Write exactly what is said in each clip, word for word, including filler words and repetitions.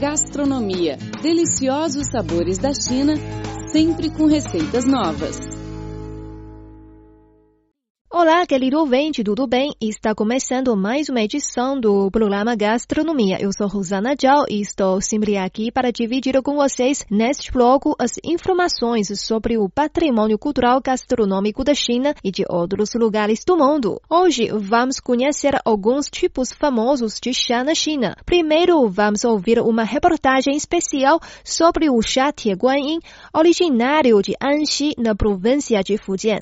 Gastronomia, deliciosos sabores da China, sempre com receitas novas. Olá, querido ouvinte, tudo bem? Está começando mais uma edição do programa Gastronomia. Eu sou Rosana Zhao e estou sempre aqui para dividir com vocês, neste bloco, as informações sobre o patrimônio cultural gastronômico da China e de outros lugares do mundo. Hoje, vamos conhecer alguns tipos famosos de chá na China. Primeiro, vamos ouvir uma reportagem especial sobre o chá Tieguanyin, originário de Anxi, na província de Fujian.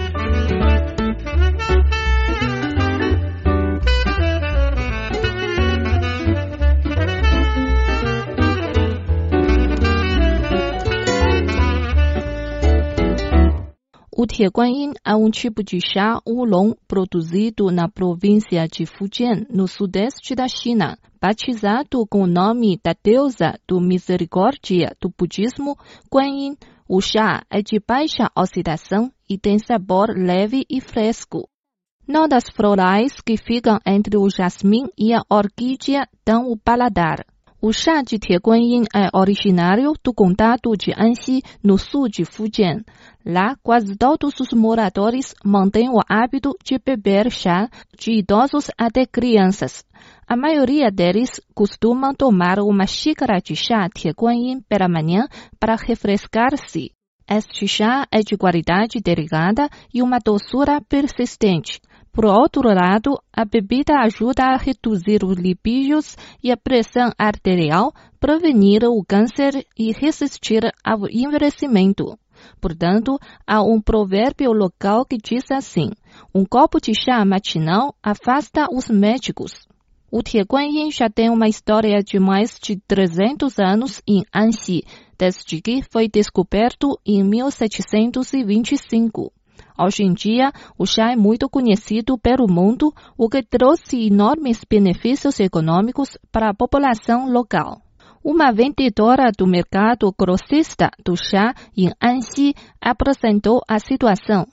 O Tieguanyin é um tipo de chá oolong produzido na província de Fujian, no sudeste da China. Batizado com o nome da deusa do misericórdia do budismo, Guanyin, o chá é de baixa oxidação e tem sabor leve e fresco. Notas florais que ficam entre o jasmim e a orquídea dão o paladar. O chá de Tieguanyin é originário do condado de Anxi, no sul de Fujian. Lá, quase todos os moradores mantêm o hábito de beber chá, de idosos até crianças. A maioria deles costumam tomar uma xícara de chá Tieguanyin pela manhã para refrescar-se. Este chá é de qualidade delicada e uma doçura persistente. Por outro lado, a bebida ajuda a reduzir os lipídios e a pressão arterial, prevenir o câncer e resistir ao envelhecimento. Portanto, há um provérbio local que diz assim: um copo de chá matinal afasta os médicos. O Tieguanyin já tem uma história de mais de trezentos anos em Anxi, desde que foi descoberto em mil setecentos e vinte e cinco. Hoje em dia, o chá é muito conhecido pelo mundo, o que trouxe enormes benefícios econômicos para a população local. Uma vendedora do mercado grossista do chá em Anxi apresentou a situação.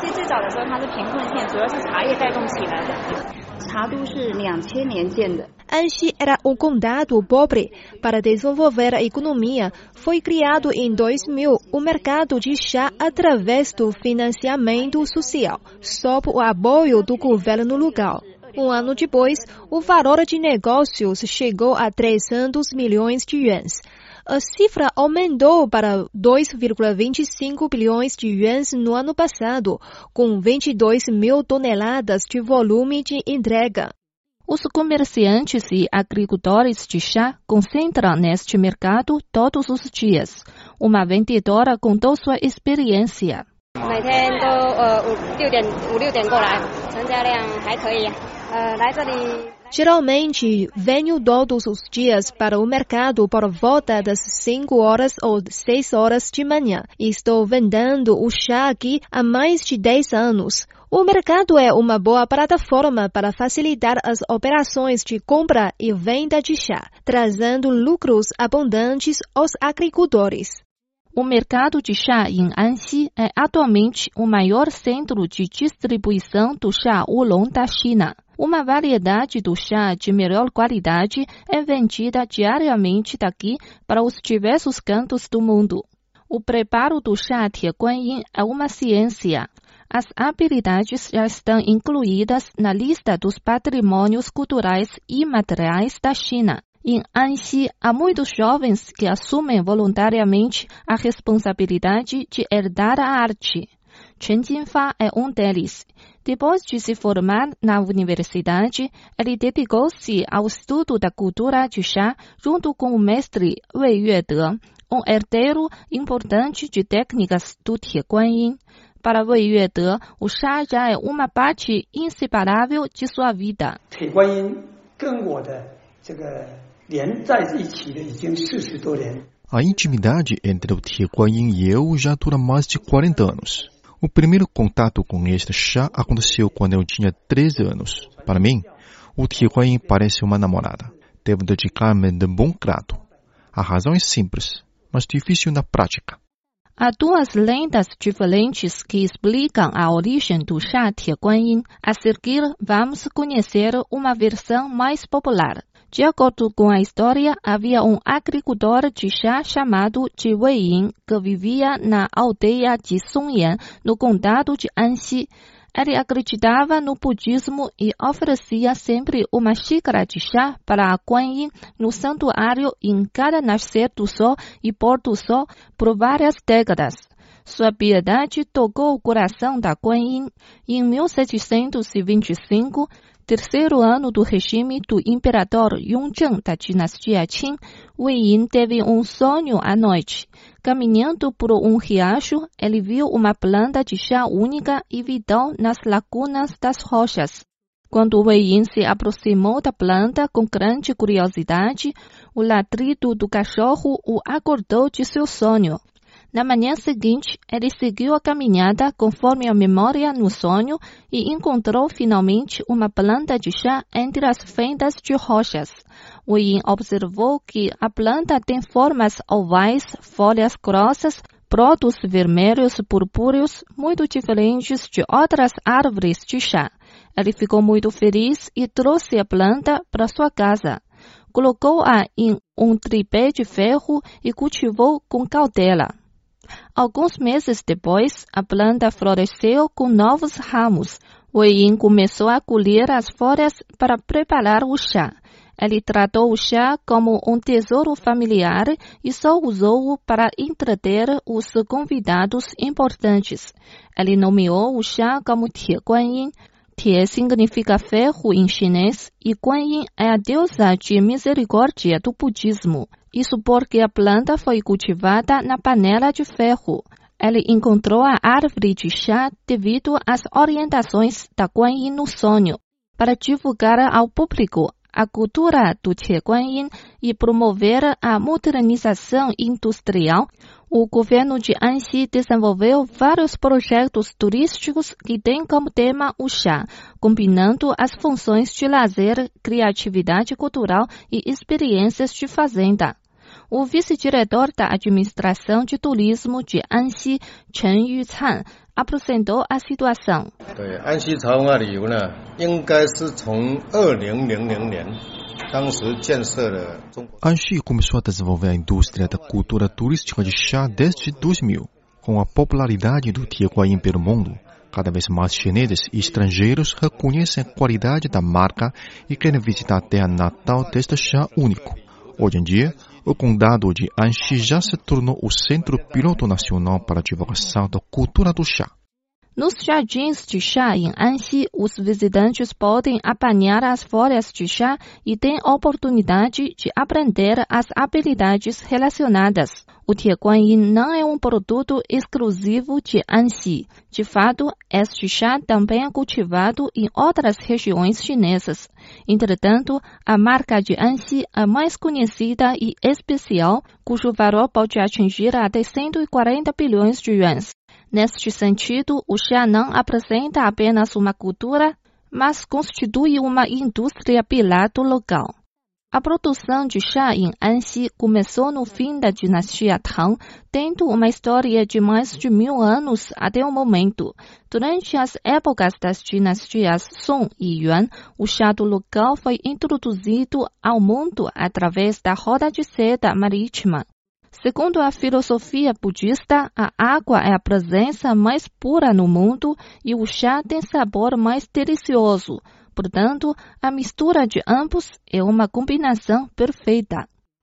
Anxi era um condado pobre. Para desenvolver a economia, foi criado em dois mil o mercado de chá através do financiamento social, sob o apoio do governo local. Um ano depois, o valor de negócios chegou a trezentos milhões de yuans. A cifra aumentou para dois vírgula vinte e cinco bilhões de yuans no ano passado, com vinte e dois mil toneladas de volume de entrega. Os comerciantes e agricultores de chá concentram neste mercado todos os dias. Uma vendedora contou sua experiência. Geralmente, venho todos os dias para o mercado por volta das cinco horas ou seis horas de manhã. Estou vendendo o chá aqui há mais de dez anos. O mercado é uma boa plataforma para facilitar as operações de compra e venda de chá, trazendo lucros abundantes aos agricultores. O mercado de chá em Anxi é atualmente o maior centro de distribuição do chá oolong da China. Uma variedade do chá de melhor qualidade é vendida diariamente daqui para os diversos cantos do mundo. O preparo do chá Tieguanyin é uma ciência. As habilidades já estão incluídas na lista dos patrimônios culturais e materiais da China. Em Anxi, há muitos jovens que assumem voluntariamente a responsabilidade de herdar a arte. Chen Jinfa é um deles. Depois de se formar na universidade, ele dedicou-se ao estudo da cultura de chá junto com o mestre Wei Yuede, um herdeiro importante de técnicas do Tieguanyin. Para Wei Yuede, o chá já é uma parte inseparável de sua vida. A intimidade entre o Tieguanyin e eu já dura mais de quarenta anos. O primeiro contato com este chá aconteceu quando eu tinha treze anos. Para mim, o Tieguanyin parece uma namorada. Devo dedicar-me de bom grado. A razão é simples, mas difícil na prática. Há duas lendas diferentes que explicam a origem do chá Tieguanyin. A seguir, vamos conhecer uma versão mais popular. De acordo com a história, havia um agricultor de chá chamado Ji Weiyin que vivia na aldeia de Songyan, no condado de Anxi. Ele acreditava no budismo e oferecia sempre uma xícara de chá para a Guanyin no santuário em cada nascer do sol e pôr do sol por várias décadas. Sua piedade tocou o coração da Guanyin. Em mil setecentos e vinte e cinco, terceiro ano do regime do imperador Yongzheng da dinastia Qin, Weiyin teve um sonho à noite. Caminhando por um riacho, ele viu uma planta de chá única e vital nas lacunas das rochas. Quando Weiyin se aproximou da planta com grande curiosidade, o ladrido do cachorro o acordou de seu sonho. Na manhã seguinte, ele seguiu a caminhada conforme a memória no sonho e encontrou finalmente uma planta de chá entre as fendas de rochas. Weiyin observou que a planta tem formas ovais, folhas grossas, brotos vermelhos purpúreos, muito diferentes de outras árvores de chá. Ele ficou muito feliz e trouxe a planta para sua casa. Colocou-a em um tripé de ferro e cultivou com cautela. Alguns meses depois, a planta floresceu com novos ramos. Weiyin começou a colher as folhas para preparar o chá. Ele tratou o chá como um tesouro familiar e só usou-o para entreter os convidados importantes. Ele nomeou o chá como Tie Guanyin. Tie significa ferro em chinês e Guanyin é a deusa de misericórdia do budismo. Isso porque a planta foi cultivada na panela de ferro. Ele encontrou a árvore de chá devido às orientações da Guanyin no sonho. Para divulgar ao público a cultura do Tie Guanyin e promover a modernização industrial, o governo de Anxi desenvolveu vários projetos turísticos que têm como tema o chá, combinando as funções de lazer, criatividade cultural e experiências de fazenda. O vice-diretor da administração de turismo de Anxi, Chen Yucan, apresentou a situação. Anxi começou a desenvolver a indústria da cultura turística de chá desde dois mil. Com a popularidade do Tie Guanyin pelo mundo, cada vez mais chineses e estrangeiros reconhecem a qualidade da marca e querem visitar a terra natal deste chá único. Hoje em dia, o condado de Anxi já se tornou o centro piloto nacional para a divulgação da cultura do chá. Nos jardins de chá em Anxi, os visitantes podem apanhar as folhas de chá e têm oportunidade de aprender as habilidades relacionadas. O Tie Guanyin não é um produto exclusivo de Anxi. De fato, este chá também é cultivado em outras regiões chinesas. Entretanto, a marca de Anxi é mais conhecida e especial, cujo valor pode atingir até cento e quarenta bilhões de yuans. Neste sentido, o chá não apresenta apenas uma cultura, mas constitui uma indústria pilar do local. A produção de chá em Anxi começou no fim da dinastia Tang, tendo uma história de mais de mil anos até o momento. Durante as épocas das dinastias Song e Yuan, o chá do local foi introduzido ao mundo através da roda de seda marítima. Segundo a filosofia budista, a água é a presença mais pura no mundo e o chá tem sabor mais delicioso. Portanto, a mistura de ambos é uma combinação perfeita.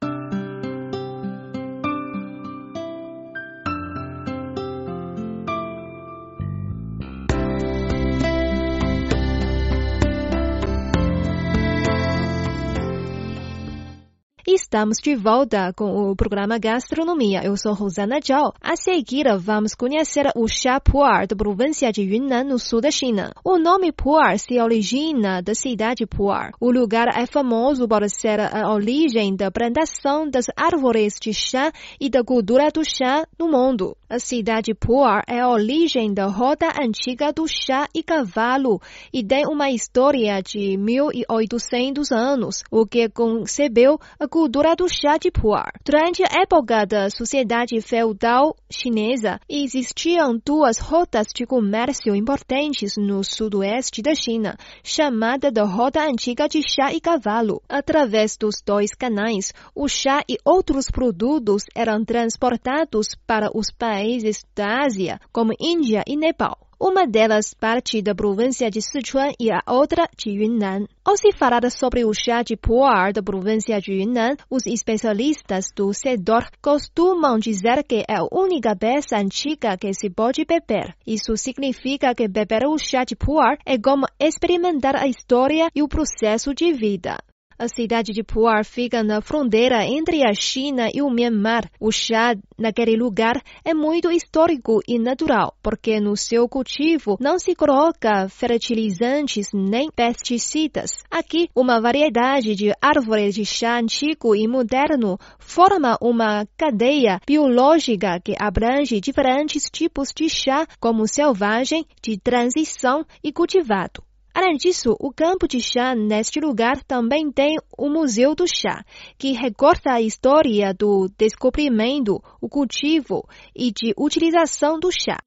Estamos de volta com o programa Gastronomia. Eu sou Rosana Zhao. A seguir, vamos conhecer o chá pu'er da província de Yunnan, no sul da China. O nome pu'er se origina da cidade Pu'er. O lugar é famoso por ser a origem da plantação das árvores de chá e da cultura do chá no mundo. A cidade Pu'er é a origem da roda antiga do chá e cavalo e tem uma história de mil e oitocentos anos, o que concebeu a cultura do chá de pu'er. Durante a época da sociedade feudal chinesa, existiam duas rotas de comércio importantes no sudoeste da China, chamada da Rota Antiga de Chá e Cavalo. Através dos dois canais, o chá e outros produtos eram transportados para os países da Ásia, como Índia e Nepal. Uma delas parte da província de Sichuan e a outra de Yunnan. Ao se falar sobre o chá de pu'er da província de Yunnan, os especialistas do setor costumam dizer que é a única peça antiga que se pode beber. Isso significa que beber o chá de pu'er é como experimentar a história e o processo de vida. A cidade de Pu'er fica na fronteira entre a China e o Myanmar. O chá naquele lugar é muito histórico e natural, porque no seu cultivo não se coloca fertilizantes nem pesticidas. Aqui, uma variedade de árvores de chá antigo e moderno forma uma cadeia biológica que abrange diferentes tipos de chá, como selvagem, de transição e cultivado. Além disso, o campo de chá neste lugar também tem o Museu do Chá, que recorta a história do descobrimento, o cultivo e de utilização do chá.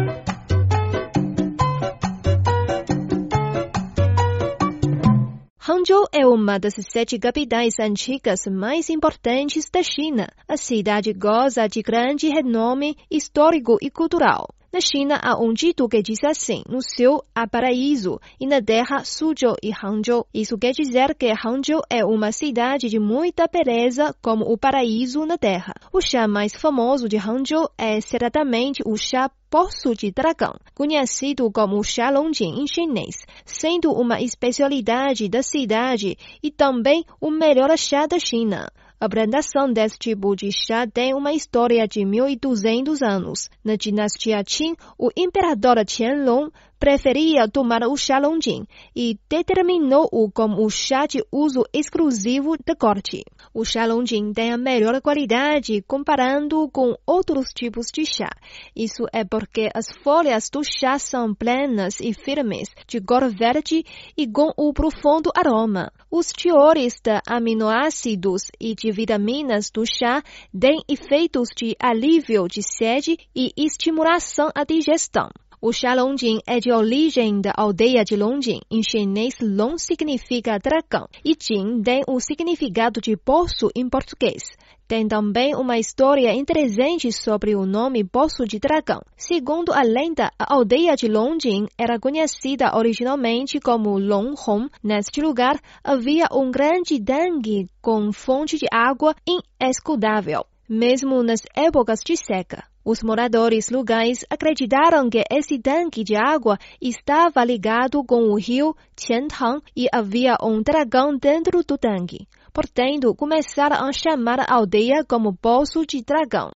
Hangzhou é uma das sete capitais antigas mais importantes da China. A cidade goza de grande renome histórico e cultural. Na China, há um dito que diz assim: no céu há paraíso e na terra Suzhou e Hangzhou. Isso quer dizer que Hangzhou é uma cidade de muita beleza como o paraíso na terra. O chá mais famoso de Hangzhou é certamente o chá Poço de Dragão, conhecido como chá Longjing em chinês, sendo uma especialidade da cidade e também o melhor chá da China. A plantação desse tipo de chá tem uma história de mil e duzentos anos. Na dinastia Qin, o imperador Qianlong preferia tomar o chá Longjing e determinou-o como o chá de uso exclusivo da corte. O chá Longjing tem a melhor qualidade comparando com outros tipos de chá. Isso é porque as folhas do chá são plenas e firmes, de cor verde e com um profundo aroma. Os teores de aminoácidos e de vitaminas do chá têm efeitos de alívio de sede e estimulação à digestão. O chá Longjing é de origem da aldeia de Longjing. Em chinês, Long significa dragão e Jing tem o significado de poço em português. Tem também uma história interessante sobre o nome Poço de Dragão. Segundo a lenda, a aldeia de Longjing era conhecida originalmente como Longhong. Neste lugar, havia um grande tanque com fonte de água inesgotável, mesmo nas épocas de seca. Os moradores locais acreditaram que esse tanque de água estava ligado com o rio Qiantang e havia um dragão dentro do tanque. Portanto, começaram a chamar a aldeia como Poço de Dragão.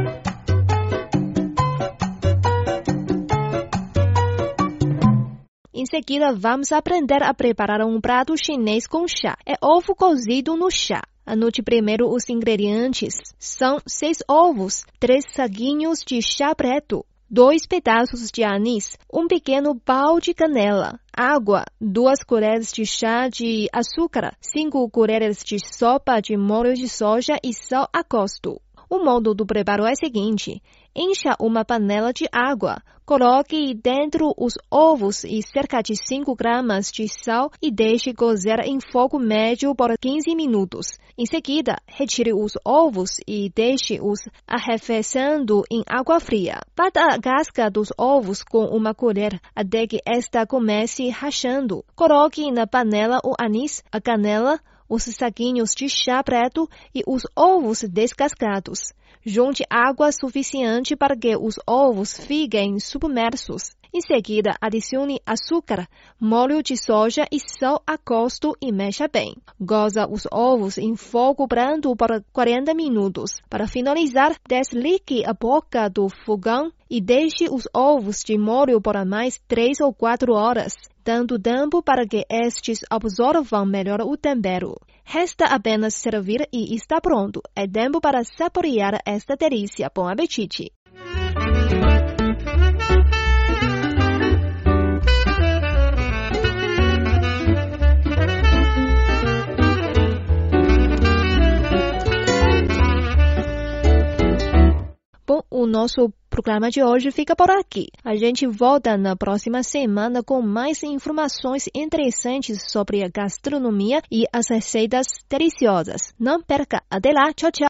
Em seguida, vamos aprender a preparar um prato chinês com chá. É ovo cozido no chá. Anote primeiro os ingredientes. São seis ovos, três saquinhos de chá preto, dois pedaços de anis, um pequeno pau de canela, água, duas colheres de chá de açúcar, cinco colheres de sopa de molho de soja e sal a gosto. O modo do preparo é o seguinte: encha uma panela de água, coloque dentro os ovos e cerca de cinco gramas de sal e deixe cozer em fogo médio por quinze minutos. Em seguida, retire os ovos e deixe-os arrefecendo em água fria. Bata a casca dos ovos com uma colher até que esta comece rachando. Coloque na panela o anis, a canela, os saquinhos de chá preto e os ovos descascados. Junte água suficiente para que os ovos fiquem submersos. Em seguida, adicione açúcar, molho de soja e sal a gosto e mexa bem. Coza os ovos em fogo brando por quarenta minutos. Para finalizar, desligue a boca do fogão e deixe os ovos de molho por mais três ou quatro horas, dando tempo para que estes absorvam melhor o tempero. Resta apenas servir e está pronto. É tempo para saborear esta delícia. Bom apetite! nosso programa de hoje fica por aqui. A gente volta na próxima semana com mais informações interessantes sobre a gastronomia e as receitas deliciosas. Não perca! Até lá! Tchau, tchau!